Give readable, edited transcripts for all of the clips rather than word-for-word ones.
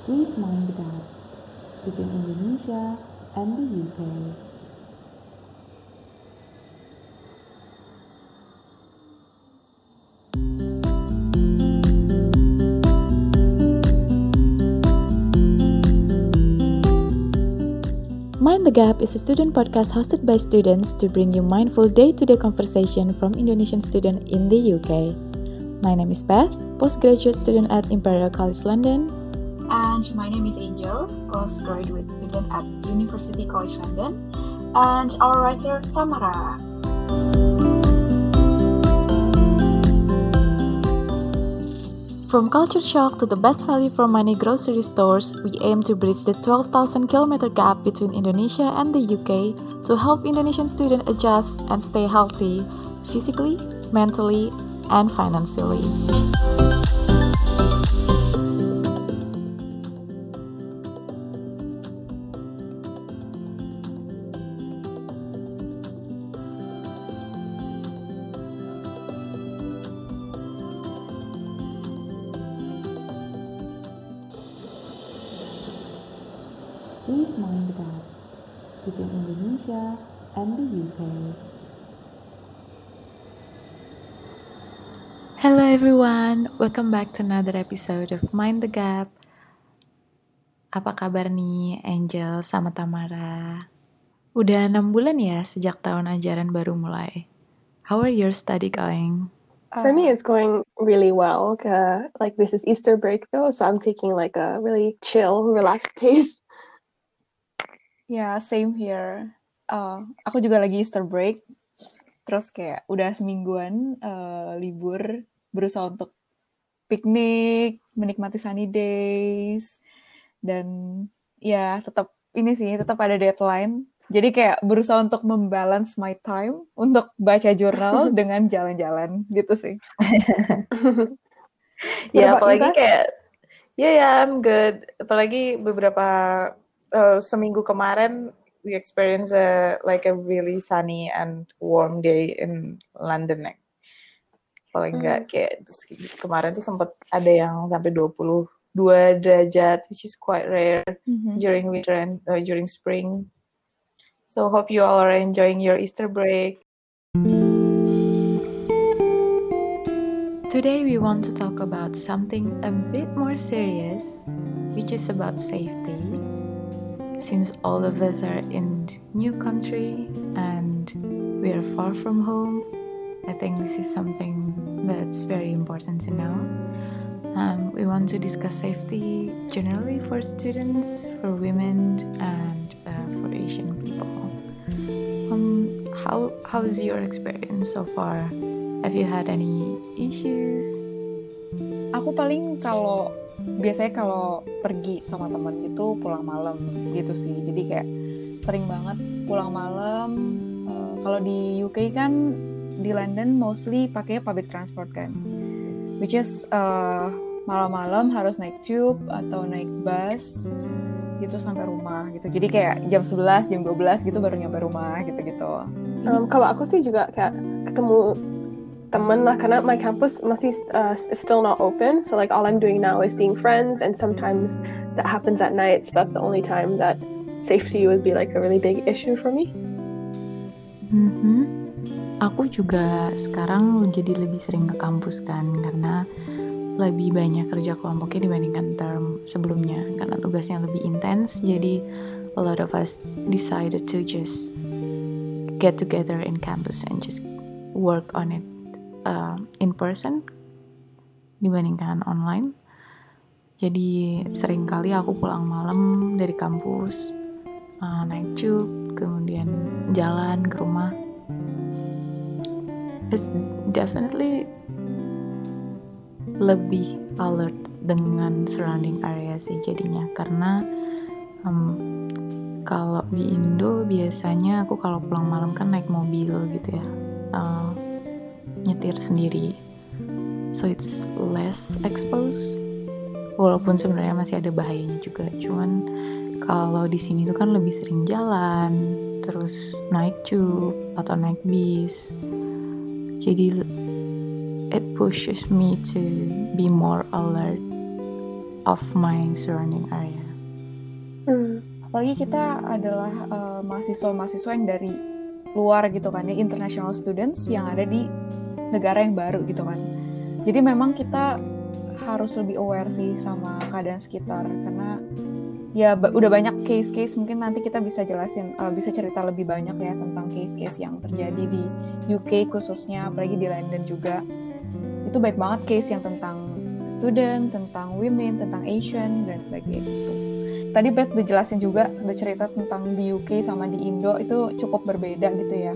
Please mind the gap between Indonesia and the UK. Mind the Gap is a student podcast hosted by students to bring you mindful day-to-day conversation from Indonesian students in the UK. My name is Beth, postgraduate student at Imperial College London. And my name is Angel, postgraduate student at University College London. And our writer, Tamara. From culture shock to the best value for money grocery stores, we aim to bridge the 12,000 kilometer gap between Indonesia and the UK to help Indonesian students adjust and stay healthy physically, mentally, and financially. Please mind the gap between Indonesia and the UK. Hello everyone, welcome back to another episode of Mind the Gap. Apa kabar nih Angel sama Tamara? Udah 6 bulan ya sejak tahun ajaran baru mulai. How are your study going? For me, it's going really well. Like this is Easter break though, so I'm taking like a really chill, relaxed pace. Ya, same here. Aku juga lagi Easter break. Terus kayak udah semingguan libur, berusaha untuk piknik, menikmati sunny days. Dan ya tetap ada deadline. Jadi kayak berusaha untuk membalance my time untuk baca jurnal dengan jalan-jalan gitu sih. Ya, apalagi kayak I'm good. Apalagi beberapa seminggu kemarin we experienced a really sunny and warm day in London. Paling enggak kayak kemarin tuh sempat ada yang sampai 22 derajat, which is quite rare during winter and during spring. So hope you all are enjoying your Easter break. Today we want to talk about something a bit more serious, which is about safety. Since all of us are in new country and we are far from home, I think this is something that's very important to know. We want to discuss safety generally for students, for women, and for Asian people. How's your experience so far? Have you had any issues? Aku paling biasanya kalau pergi sama teman gitu pulang malam gitu sih. Jadi kayak sering banget pulang malam. Kalau di UK kan di London mostly pakai public transport kan. Which is malam-malam harus naik tube atau naik bus gitu sampai rumah gitu. Jadi kayak jam 11, jam 12 gitu baru nyampe rumah gitu-gitu. Kalau aku sih juga kayak ketemu temen lah, karena my campus masih still not open, so like all I'm doing now is seeing friends, and sometimes that happens at night, so that's the only time that safety would be like a really big issue for me. Aku juga sekarang jadi lebih sering ke kampus kan, karena lebih banyak kerja kelompoknya dibandingkan term sebelumnya, karena tugasnya lebih intens. Jadi a lot of us decided to just get together in campus and just work on it in person dibandingkan online. Jadi sering kali aku pulang malam dari kampus, naik tube, kemudian jalan ke rumah. It's definitely lebih alert dengan surrounding area sih jadinya, karena kalau di Indo biasanya aku kalau pulang malam kan naik mobil gitu ya, nyetir sendiri, so it's less exposed, walaupun sebenarnya masih ada bahayanya juga. Cuman kalau di sini tuh kan lebih sering jalan, terus naik tube atau naik bis, jadi it pushes me to be more alert of my surrounding area. Apalagi kita adalah mahasiswa-mahasiswa yang dari luar gitu kan ya, international students yang ada di negara yang baru gitu kan. Jadi memang kita harus lebih aware sih sama keadaan sekitar, karena ya udah banyak case-case, mungkin nanti kita bisa jelasin, bisa cerita lebih banyak ya tentang case-case yang terjadi di UK khususnya, apalagi di London juga. Itu baik banget case yang tentang student, tentang women, tentang Asian dan sebagainya gitu. Tadi Beth udah jelasin juga, udah cerita tentang di UK sama di Indo itu cukup berbeda gitu ya.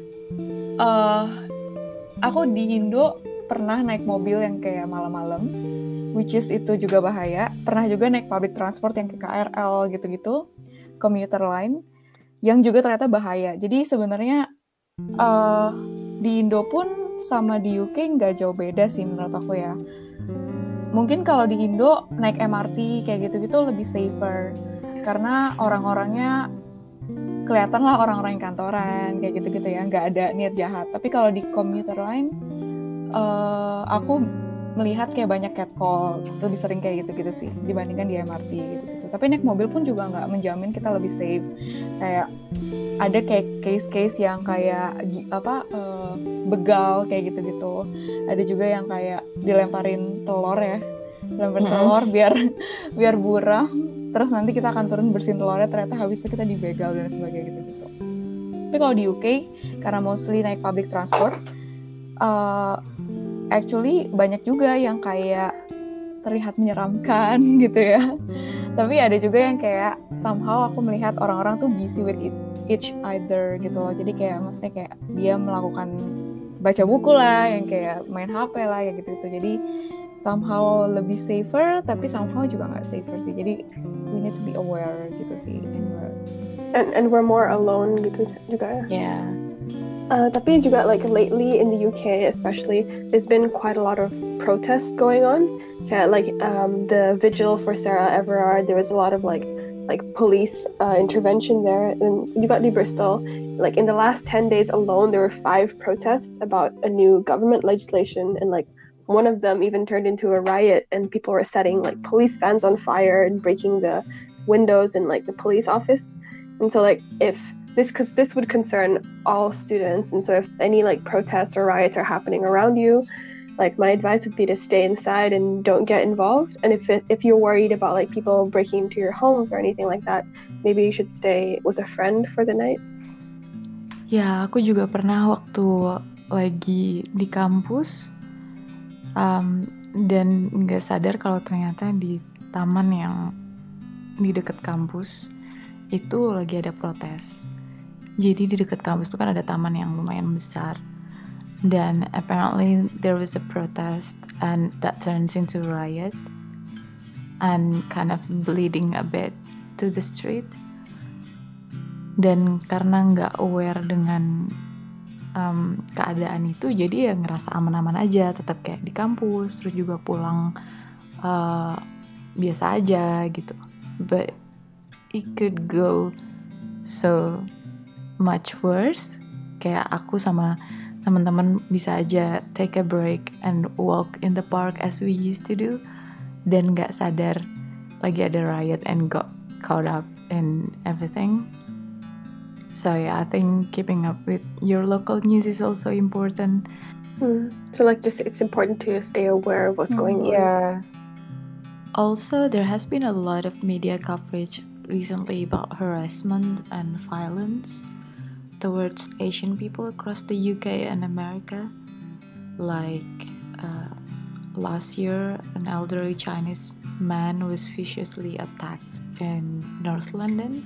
Aku di Indo pernah naik mobil yang kayak malam-malam, which is itu juga bahaya. Pernah juga naik public transport yang kayak KRL gitu-gitu, commuter line, yang juga ternyata bahaya. Jadi sebenarnya di Indo pun sama di UK nggak jauh beda sih menurut aku ya. Mungkin kalau di Indo naik MRT kayak gitu-gitu lebih safer, karena orang-orangnya kelihatan lah orang-orang yang kantoran kayak gitu-gitu ya, nggak ada niat jahat. Tapi kalau di commuter line, aku melihat kayak banyak catcall, lebih sering kayak gitu-gitu sih dibandingkan di MRT gitu-gitu. Tapi naik mobil pun juga nggak menjamin kita lebih safe. Kayak ada kayak case-case yang kayak begal kayak gitu-gitu. Ada juga yang kayak dilemparin telur ya, telur biar buram. Terus nanti kita akan turun bersihin telurnya, ternyata habis itu kita dibegal dan sebagainya gitu-gitu. Tapi kalau di UK, karena mostly naik public transport, actually banyak juga yang kayak terlihat menyeramkan gitu ya. Tapi ada juga yang kayak somehow aku melihat orang-orang tuh busy with each other gitu loh. Jadi kayak maksudnya kayak dia melakukan baca buku lah, yang kayak main HP lah kayak gitu-gitu. Jadi somehow lebih safer, tapi somehow juga nggak safer sih. Jadi we need to be aware gitu sih. And we're more alone gitu juga ya. Yeah. Tapi juga like lately in the UK especially, there's been quite a lot of protests going on. Like the vigil for Sarah Everard, there was a lot of like police intervention there. And juga di Bristol, like in the last 10 days alone, there were 5 protests about a new government legislation, and like one of them even turned into a riot, and people were setting like police vans on fire and breaking the windows in like the police office. And so like because this would concern all students, and so if any like protests or riots are happening around you, like my advice would be to stay inside and don't get involved. And if you're worried about like people breaking into your homes or anything like that, maybe you should stay with a friend for the night. Ya, aku juga pernah waktu lagi di kampus dan nggak sadar kalau ternyata di taman yang di dekat kampus itu lagi ada protes. Jadi di dekat kampus itu kan ada taman yang lumayan besar, dan apparently there was a protest and that turns into riot and kind of bleeding a bit to the street. Dan karena nggak aware dengan keadaan itu, jadi ya ngerasa aman-aman aja, tetap kayak di kampus, terus juga pulang biasa aja gitu. But it could go so much worse. Kayak aku sama teman-teman bisa aja take a break and walk in the park as we used to do, dan gak sadar lagi ada riot and got caught up in everything. So yeah, I think keeping up with your local news is also important. So like just it's important to stay aware of what's going on. Yeah. Also, there has been a lot of media coverage recently about harassment and violence towards Asian people across the UK and America. Like last year, an elderly Chinese man was viciously attacked in North London,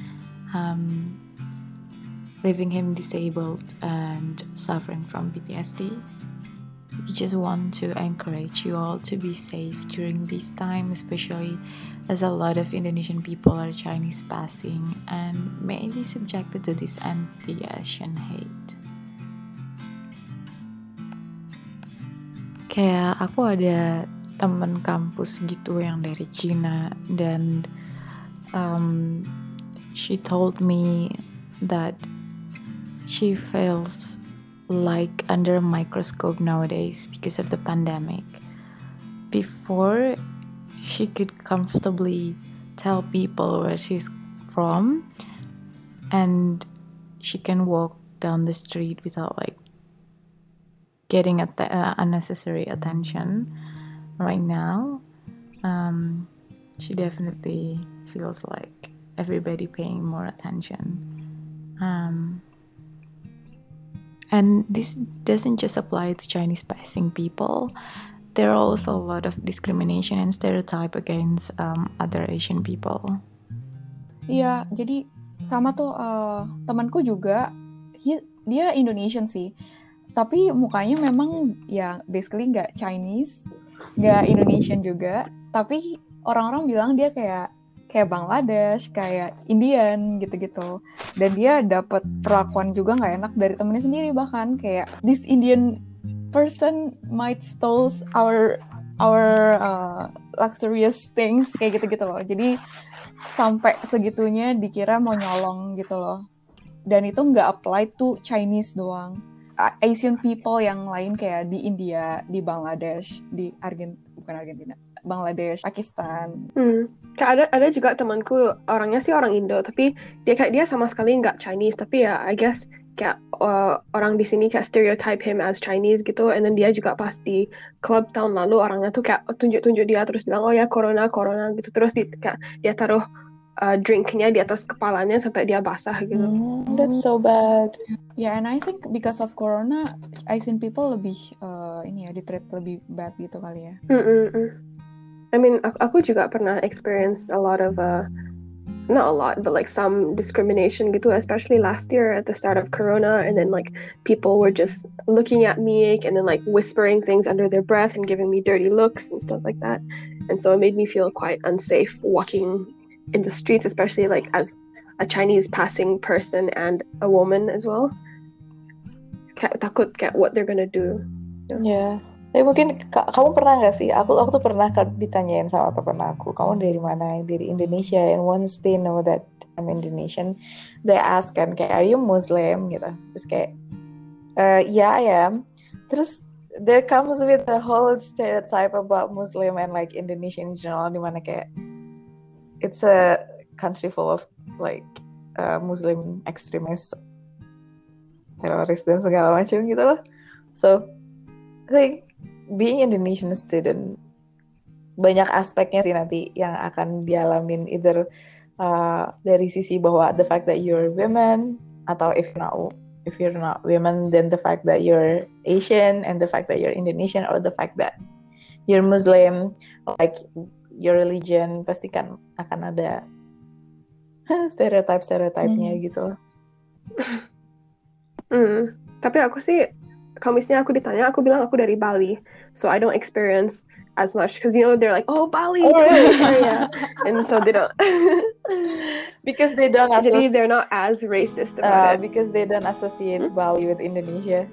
leaving him disabled and suffering from PTSD. We just want to encourage you all to be safe during this time, especially as a lot of Indonesian people are Chinese passing and may be subjected to this anti-Asian hate. Kayak aku ada temen kampus gitu yang dari Cina, dan she told me that she feels like under a microscope nowadays because of the pandemic. Before, she could comfortably tell people where she's from, and she can walk down the street without like getting unnecessary attention. Right now, she definitely feels like everybody paying more attention. And this doesn't just apply to Chinese passing people. There are also a lot of discrimination and stereotype against other Asian people. Iya, jadi sama tuh temanku juga, dia Indonesian sih, tapi mukanya memang ya basically nggak Chinese, nggak Indonesian juga, tapi orang-orang bilang dia kayak Bangladesh, kayak Indian gitu-gitu. Dan dia dapat perlakuan juga nggak enak dari temennya sendiri, bahkan kayak this Indian person might stole our luxurious things, kayak gitu-gitu loh. Jadi sampai segitunya dikira mau nyolong gitu loh. Dan itu nggak apply to Chinese doang. Asian people yang lain kayak di India, di Bangladesh, di Argentina, Bangladesh, Pakistan. Kayak ada juga temanku, orangnya sih orang Indo, tapi dia sama sekali nggak Chinese, tapi ya I guess kayak orang di sini kayak stereotype him as Chinese gitu, and then dia juga pas di club tahun lalu orangnya tuh kayak tunjuk dia terus bilang oh ya corona gitu, terus kayak dia taruh drinknya di atas kepalanya sampai dia basah gitu. That's so bad. Yeah, and I think because of corona, Asian people lebih di-treat lebih bad gitu kali ya. I mean, aku juga pernah experience a lot of not a lot, but like some discrimination gitu, especially last year at the start of corona, and then like people were just looking at me and then like whispering things under their breath and giving me dirty looks and stuff like that, and so it made me feel quite unsafe walking in the streets, especially like as a Chinese passing person and a woman as well. Kayak takut kayak what they're gonna do. Yeah. Mungkin kamu pernah nggak sih? Aku tuh pernah ditanyain sama teman aku, kamu dari mana? Dari Indonesia. And once they know that I'm Indonesian, they ask kan kayak, are you Muslim gitu? Terus kayak, yeah I am. Terus there comes with a whole stereotype about Muslim and like Indonesia in general, dimana kayak it's a country full of like Muslim extremists, teroris dan segala macam gitu loh. So I think being Indonesian student banyak aspeknya sih nanti yang akan dialamin, either dari sisi bahwa the fact that you're women, atau if you're not women, then the fact that you're Asian, and the fact that you're Indonesian, or the fact that you're Muslim, like your religion, pasti kan akan ada stereotype-nya gitu. Tapi aku sih, kalau misalnya aku ditanya, aku bilang aku dari Bali, so I don't experience as much, because you know they're like, oh Bali, area, and so they don't, because they don't actually they're not as racist about it, because they don't associate Bali with Indonesia.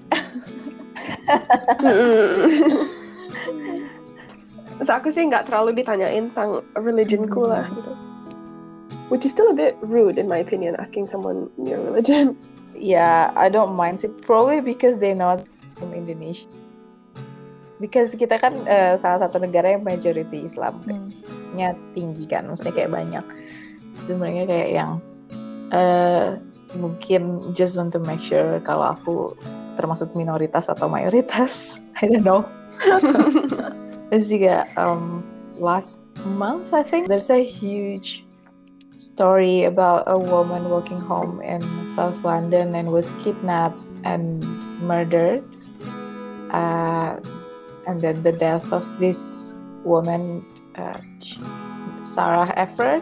So aku sih nggak terlalu ditanyain tentang religionku lah gitu, which is still a bit rude in my opinion, asking someone your religion. Yeah, I don't mind it. Probably because they know from Indonesia. Because kita kan salah satu negara yang majority Islamnya tinggi kan, maksudnya kayak banyak. Sebenarnya kayak yang mungkin just want to make sure kalau aku termasuk minoritas atau mayoritas. I don't know. Terus juga last month I think there's a huge story about a woman walking home in South London and was kidnapped and murdered, and then the death of this woman, Sarah Efford,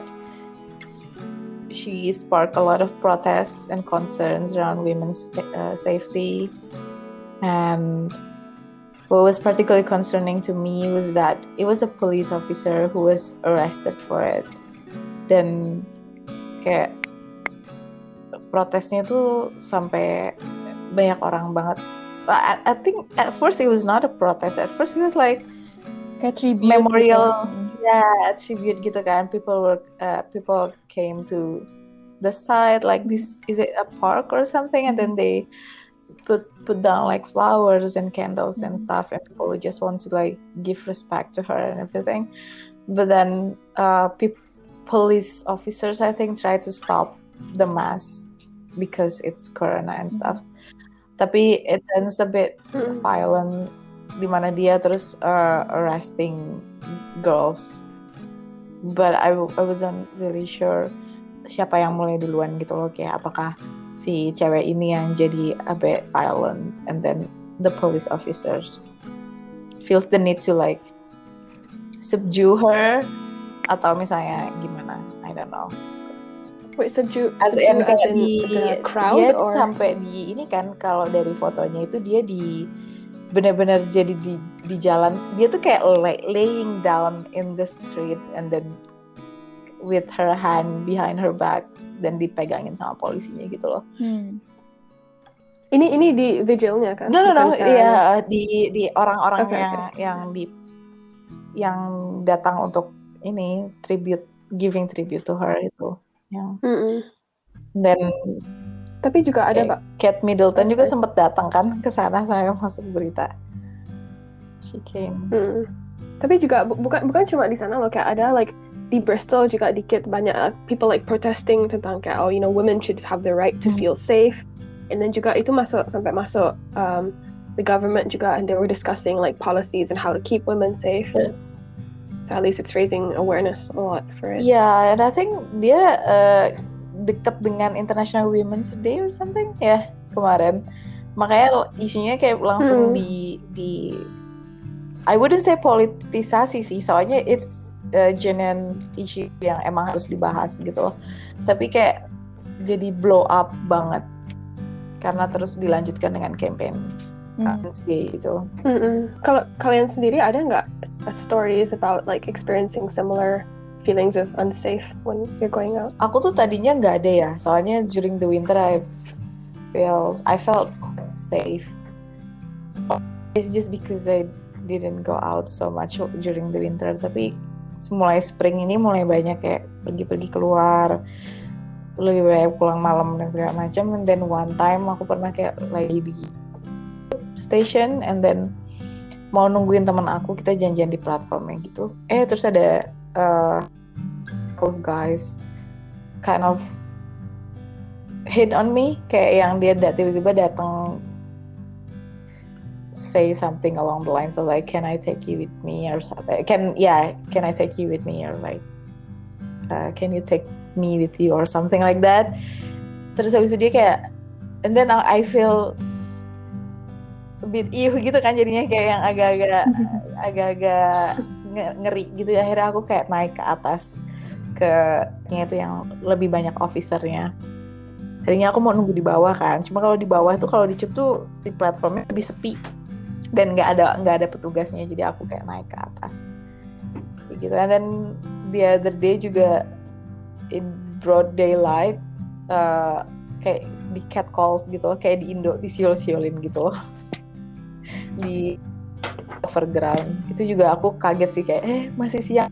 she sparked a lot of protests and concerns around women's safety. And what was particularly concerning to me was that it was a police officer who was arrested for it. Dan kayak protesnya tuh sampai banyak orang banget. I think at first it was not a protest. At first it was like kayak tribute, memorial, tribute gitu kan. People came to the side like, this is it a park or something, and then they put down like flowers and candles and stuff, and people would just want to like give respect to her and everything. But then police officers, I think, try to stop the mass because it's corona and stuff. Tapi it ends a bit violent, di mana dia terus arresting girls. But I wasn't really sure siapa yang mulai duluan gitu loh, kayak apakah si cewek ini yang jadi a bit violent and then the police officers feels the need to like subdue her, atau misalnya gimana, I don't know. Wait, subdue As in kayak the crowd dia or sampai di ini kan, kalau dari fotonya itu dia di benar-benar jadi di jalan, dia tuh kayak laying down in the street and then with her hand behind her back dan dipegangin sama polisinya gitu loh. Ini di vigilnya kan? No, Bukan iya di orang-orang Okay. yang datang untuk ini giving tribute to her itu. Yang dan Tapi juga ada Mbak. Kate Middleton juga sempat datang kan ke sana, saya masuk berita. She came. Tapi juga bukan cuma di sana loh, kayak ada like di Bristol juga dikit banyak people like protesting tentang kayak women should have the right to feel safe, and then juga itu sampai masuk the government juga, and they were discussing like policies and how to keep women safe. So at least it's raising awareness a lot for it. Yeah, and I think dia dekat dengan International Women's Day or something ya kemarin, makanya isunya kayak langsung di I wouldn't say politisasi sih, soalnya it's genuine issue yang emang harus dibahas gitu loh, tapi kayak jadi blow up banget karena terus dilanjutkan dengan campaign Women's Day itu. Kalau kalian sendiri ada nggak stories about like experiencing similar feelings of unsafe when you're going out? Aku tuh tadinya nggak ada ya, soalnya during the winter I felt quite safe. It's just because I didn't go out so much during the winter, tapi mulai spring ini mulai banyak kayak pergi-pergi keluar, lebih banyak pulang malam dan segala macam. And then one time aku pernah kayak lagi di station and then mau nungguin teman aku, kita janjian di platformnya gitu. Terus ada of guys kind of hit on me, kayak yang dia tiba-tiba datang say something along the lines of like, can I take you with me or something, can I take you with me, or like can you take me with you or something like that. Terus habis itu dia kayak, and then I feel a bit gitu kan, jadinya kayak yang agak-agak ngeri gitu. Akhirnya aku kayak naik ke atas ke itu yang lebih banyak officernya. Tadinya aku mau nunggu di bawah kan, cuma kalau di bawah tuh, kalau di CUP tuh di platformnya lebih sepi dan nggak ada petugasnya, jadi aku kayak naik ke atas gitu. And then the other day juga in broad daylight kayak di catcalls gitu, kayak di Indo disiul-siulin gitu loh di overground. Itu juga aku kaget sih, kayak masih siang.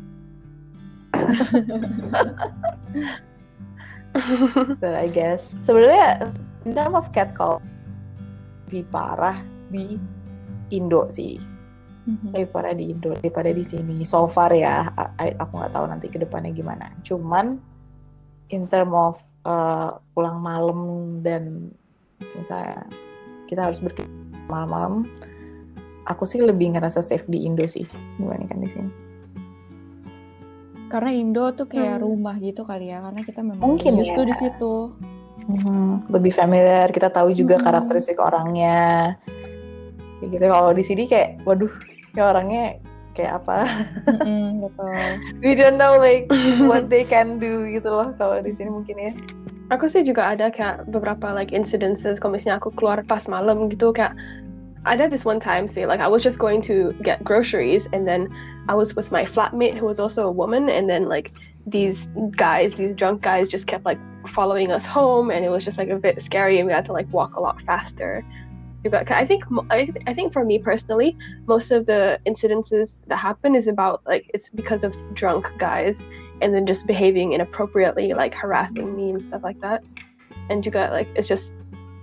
But I guess sebenarnya in terms of catcall lebih parah di Indo sih, lebih parah di Indo daripada di sini so far ya. Aku nggak tahu nanti kedepannya gimana. Cuman in terms of pulang malam dan misalnya kita harus berkegiatan malam-malam, aku sih lebih ngerasa safe di Indo sih dibandingkan di sini. Karena Indo tuh kayak rumah gitu kali ya, karena kita memang mungkin used to di situ. Lebih familiar, kita tahu juga karakteristik orangnya. Kayak gitu. Kalau di sini kayak, waduh, ya orangnya kayak apa? Betul. We don't know like what they can do gitu loh. Kalau di sini mungkin ya. Aku sih juga ada kayak beberapa like incidences kalau misalnya aku keluar pas malam gitu, kayak ada this one time sih, like I was just going to get groceries and then I was with my flatmate who was also a woman, and then like these drunk guys just kept like following us home, and it was just like a bit scary, and we had to like walk a lot faster. I think for me personally, most of the incidences that happen is about like it's because of drunk guys and then just behaving inappropriately, like harassing me and stuff like that. And juga like it's just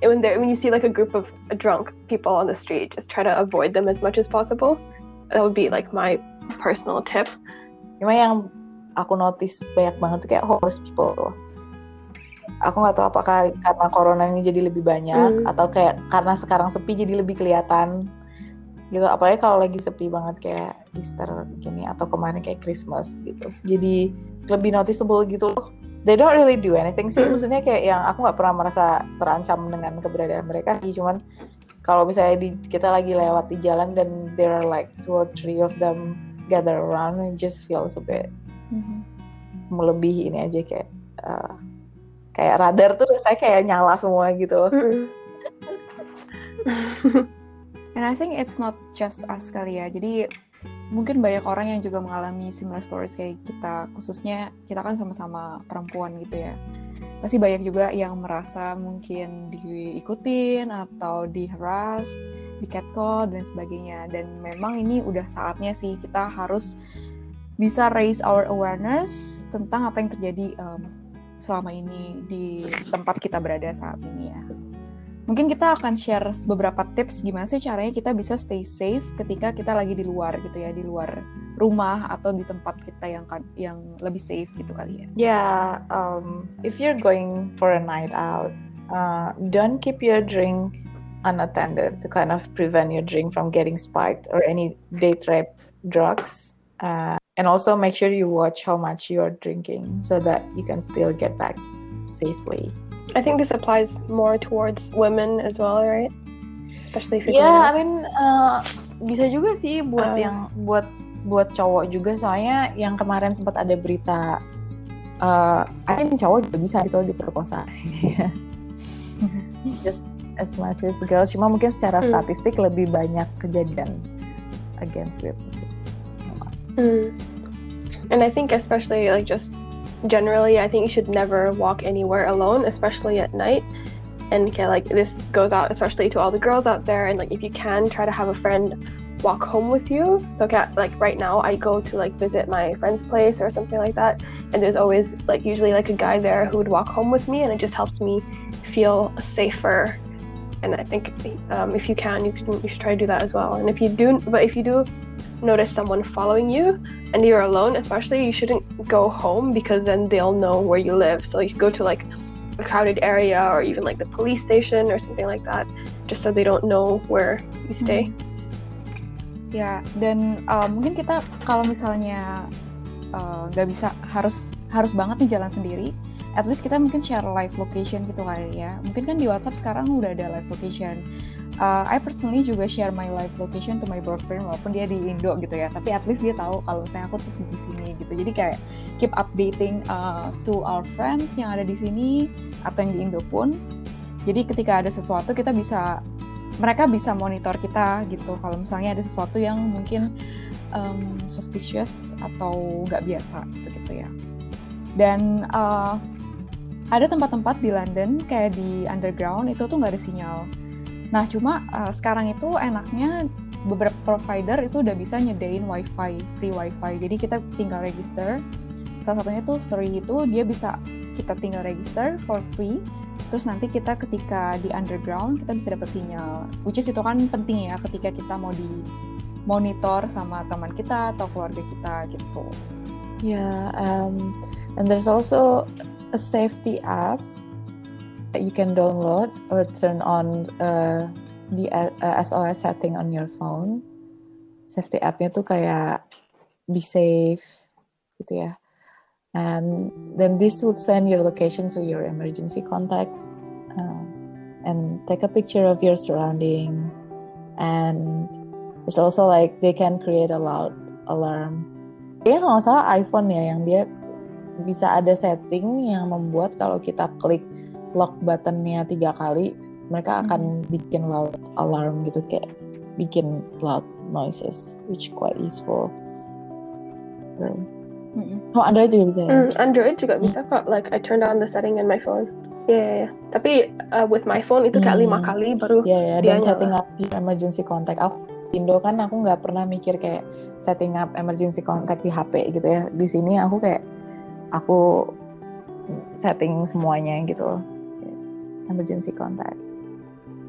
when you see like a group of drunk people on the street, just try to avoid them as much as possible. That would be like my personal tip. Cuma yang aku notice banyak banget tuh kayak homeless people tuh. Aku nggak tahu apakah karena corona ini jadi lebih banyak atau kayak karena sekarang sepi jadi lebih kelihatan gitu. Apalagi kalau lagi sepi banget kayak Easter gini atau kemarin kayak Christmas gitu. Jadi lebih noticeable gitu loh. They don't really do anything sih. Maksudnya kayak yang aku nggak pernah merasa terancam dengan keberadaan mereka sih. Cuman kalau misalnya kita lagi lewat di jalan dan there are like 2 or 3 of them gather around, it just feels a bit melebihi ini aja kayak radar tuh saya kayak nyala semua gitu. And I think it's not just us kali ya. Jadi mungkin banyak orang yang juga mengalami similar stories kayak kita. Khususnya kita kan sama-sama perempuan gitu ya. Pasti banyak juga yang merasa mungkin diikutin atau di-harass, di-catcall dan sebagainya. Dan memang ini udah saatnya sih kita harus bisa raise our awareness tentang apa yang terjadi selama ini di tempat kita berada saat ini ya. Mungkin kita akan share beberapa tips gimana sih caranya kita bisa stay safe ketika kita lagi di luar gitu ya, di luar rumah atau di tempat kita yang lebih safe gitu kali ya. Yeah, if you're going for a night out, don't keep your drink unattended to kind of prevent your drink from getting spiked or any date rape drugs. And also make sure you watch how much you're drinking so that you can still get back safely. I think this applies more towards women as well, right? Especially if Yeah, I mean bisa juga sih buat yang buat cowok juga, soalnya yang kemarin sempat ada berita I think cowok juga bisa gitu diperkosa. Just as much as girls, cuma mungkin secara statistik lebih banyak kejadian against women. And I think especially like just generally, I think you should never walk anywhere alone, especially at night. And like this goes out especially to all the girls out there. And like if you can, try to have a friend walk home with you. So like right now, I go to like visit my friend's place or something like that, and there's always like usually like a guy there who would walk home with me, and it just helps me feel safer. And I think if you can, you should try to do that as well. And if you do notice someone following you and you're alone, especially, you shouldn't go home because then they'll know where you live. So you go to like a crowded area or even like the police station or something like that, just so they don't know where you stay. Ya, dan mungkin kita kalau misalnya nggak bisa harus banget nih jalan sendiri, at least kita mungkin share live location gitu kali ya. Mungkin kan di WhatsApp sekarang udah ada live location. I personally juga share my live location to my boyfriend walaupun dia di Indo gitu ya. Tapi at least dia tahu kalau misalnya aku tuh di sini gitu. Jadi kayak keep updating to our friends yang ada di sini atau yang di Indo pun. Jadi ketika ada sesuatu mereka bisa monitor kita gitu. Kalau misalnya ada sesuatu yang mungkin suspicious atau nggak biasa gitu ya. Dan ada tempat-tempat di London kayak di underground itu tuh nggak ada sinyal. Nah cuma sekarang itu enaknya beberapa provider itu udah bisa nyedain free wifi. Jadi kita tinggal register. Salah satunya tuh Sri itu dia bisa kita tinggal register for free. Terus nanti kita ketika di underground kita bisa dapat sinyal. Which is itu kan penting ya ketika kita mau di monitor sama teman kita atau keluarga kita gitu. Yeah, and there's also a safety app that you can download or turn on the SOS setting on your phone. Safety app-nya tuh kayak be safe gitu ya. And then this would send your location to your emergency contacts and take a picture of your surrounding. And there's also like they can create a loud alarm. Kayaknya kalau nggak salah iPhone ya yang dia bisa ada setting yang membuat kalau kita klik lock buttonnya 3 kali, mereka akan bikin loud alarm gitu, kayak bikin loud noises, which quite useful. Oh, Android juga bisa ya? Android juga bisa kok. Like I turned on the setting in my phone. Yeah. Tapi with my phone itu kayak 5 kali baru dia dan nyala. Setting up your emergency contact. Aku di Indo kan aku nggak pernah mikir kayak setting up emergency contact di HP gitu ya. Di sini aku setting semuanya gitu loh. Emergency contact.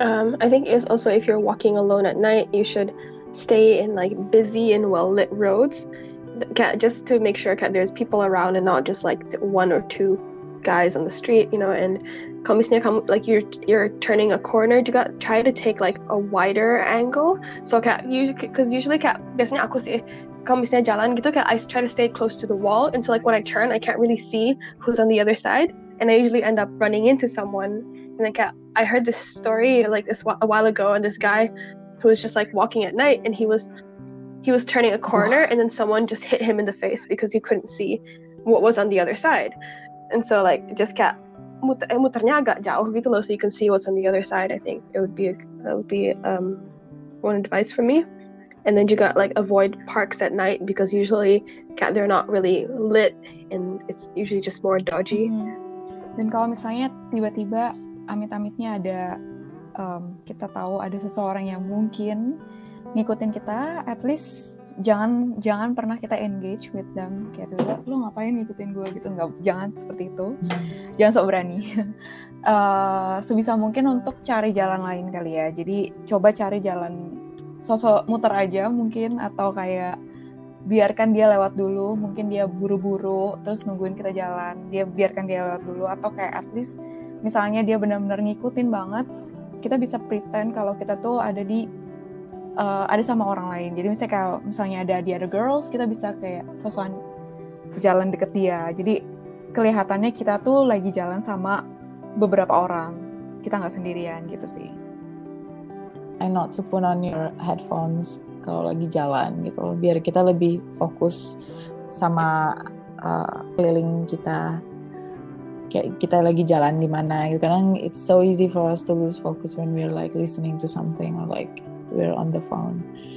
I think it's also if you're walking alone at night, you should stay in like busy and well lit roads, just to make sure there's people around and not just like one or two guys on the street, you know. And kalau misalnya kamu like you're turning a corner juga, try to take like a wider angle. So because usually biasanya aku sih, kalau misalnya jalan gitu I try to stay close to the wall, and so like when I turn I can't really see who's on the other side, and I usually end up running into someone. And like I heard this story like this a while ago, and this guy who was just like walking at night, and he was turning a corner, and then someone just hit him in the face because he couldn't see what was on the other side. And so like just muternya agak jauh gitu loh, so you can see what's on the other side. I think that would be one advice for me. And then juga like avoid parks at night, because usually they're not really lit and it's usually just more dodgy. Dan kalau misalnya tiba-tiba amit-amitnya ada kita tahu ada seseorang yang mungkin ngikutin kita, at least jangan pernah kita engage with them kayak lo ngapain ngikutin gue gitu, jangan seperti itu. Jangan sok berani. Sebisa mungkin untuk cari jalan lain kali ya. Jadi coba cari jalan, sosok muter aja mungkin, atau kayak biarkan dia lewat dulu, mungkin dia buru-buru terus nungguin kita jalan, biarkan dia lewat dulu. Atau kayak at least misalnya dia benar-benar ngikutin banget, kita bisa pretend kalau kita tuh ada sama orang lain. Jadi misalnya ada the other girls, kita bisa kayak sosokan jalan deket dia. Jadi kelihatannya kita tuh lagi jalan sama beberapa orang, kita nggak sendirian gitu sih. And not to put on your headphones kalau lagi jalan gitu, biar kita lebih fokus sama keliling kita, kayak kita lagi jalan di mana gitu. Karena it's so easy for us to lose focus when we're like listening to something or like we're on the phone.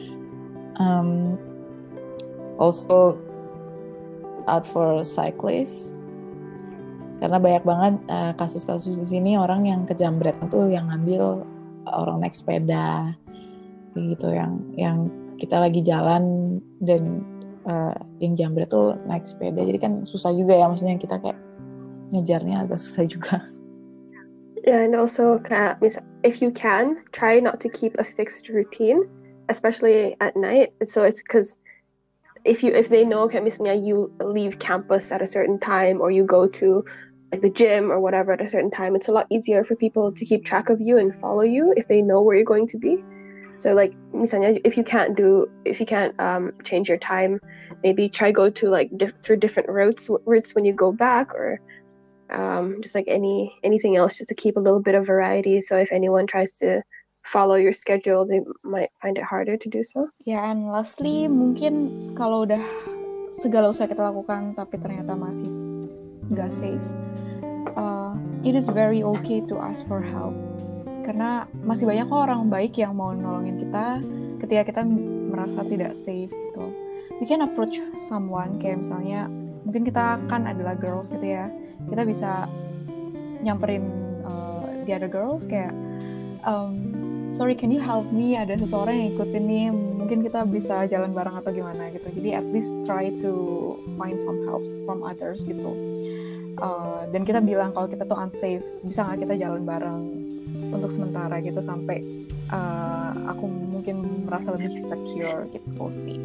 Also out for cyclists, karena banyak banget kasus-kasus di sini orang yang kejambret tuh yang ngambil orang naik sepeda gitu, yang kita lagi jalan dan yang jambret tuh naik sepeda, jadi kan susah juga ya, maksudnya kita kayak ngejarnya agak susah juga. Yeah, and also if you can, try not to keep a fixed routine, especially at night. So it's because if they know misalnya you leave campus at a certain time, or you go to like the gym or whatever at a certain time, it's a lot easier for people to keep track of you and follow you if they know where you're going to be. So like misalnya if you can't change your time, maybe try go to like through different routes when you go back, or just like anything else, just to keep a little bit of variety. So if anyone tries to follow your schedule, they might find it harder to do so. Yeah, and lastly, mungkin kalau udah segala usaha kita lakukan tapi ternyata masih nggak safe, it is very okay to ask for help. Karena masih banyak orang baik yang mau nolongin kita ketika kita merasa tidak safe gitu. We can approach someone, kayak misalnya mungkin kita kan adalah girls gitu ya, kita bisa nyamperin the other girls kayak sorry, can you help me, ada seseorang yang ikutin nih, mungkin kita bisa jalan bareng atau gimana gitu. Jadi at least try to find some help from others gitu. Dan kita bilang kalau kita tuh unsafe, bisa nggak kita jalan bareng untuk sementara gitu sampai aku mungkin merasa lebih secure gitu sih.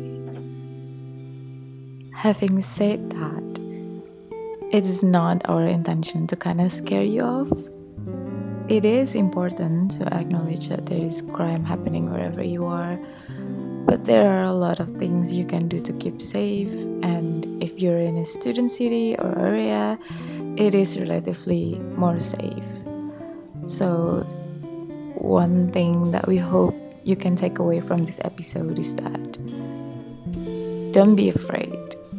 Having said that, it is not our intention to kind of scare you off. It is important to acknowledge that there is crime happening wherever you are, but there are a lot of things you can do to keep safe, and if you're in a student city or area, it is relatively more safe. So one thing that we hope you can take away from this episode is that don't be afraid.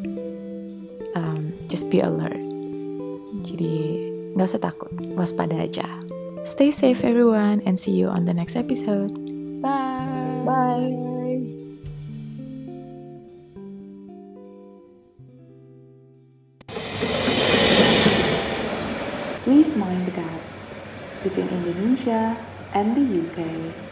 Just be alert. Jadi gak usah takut, waspada aja. Stay safe everyone, and see you on the next episode. Bye. Bye. Please mind the gap between Indonesia and the UK.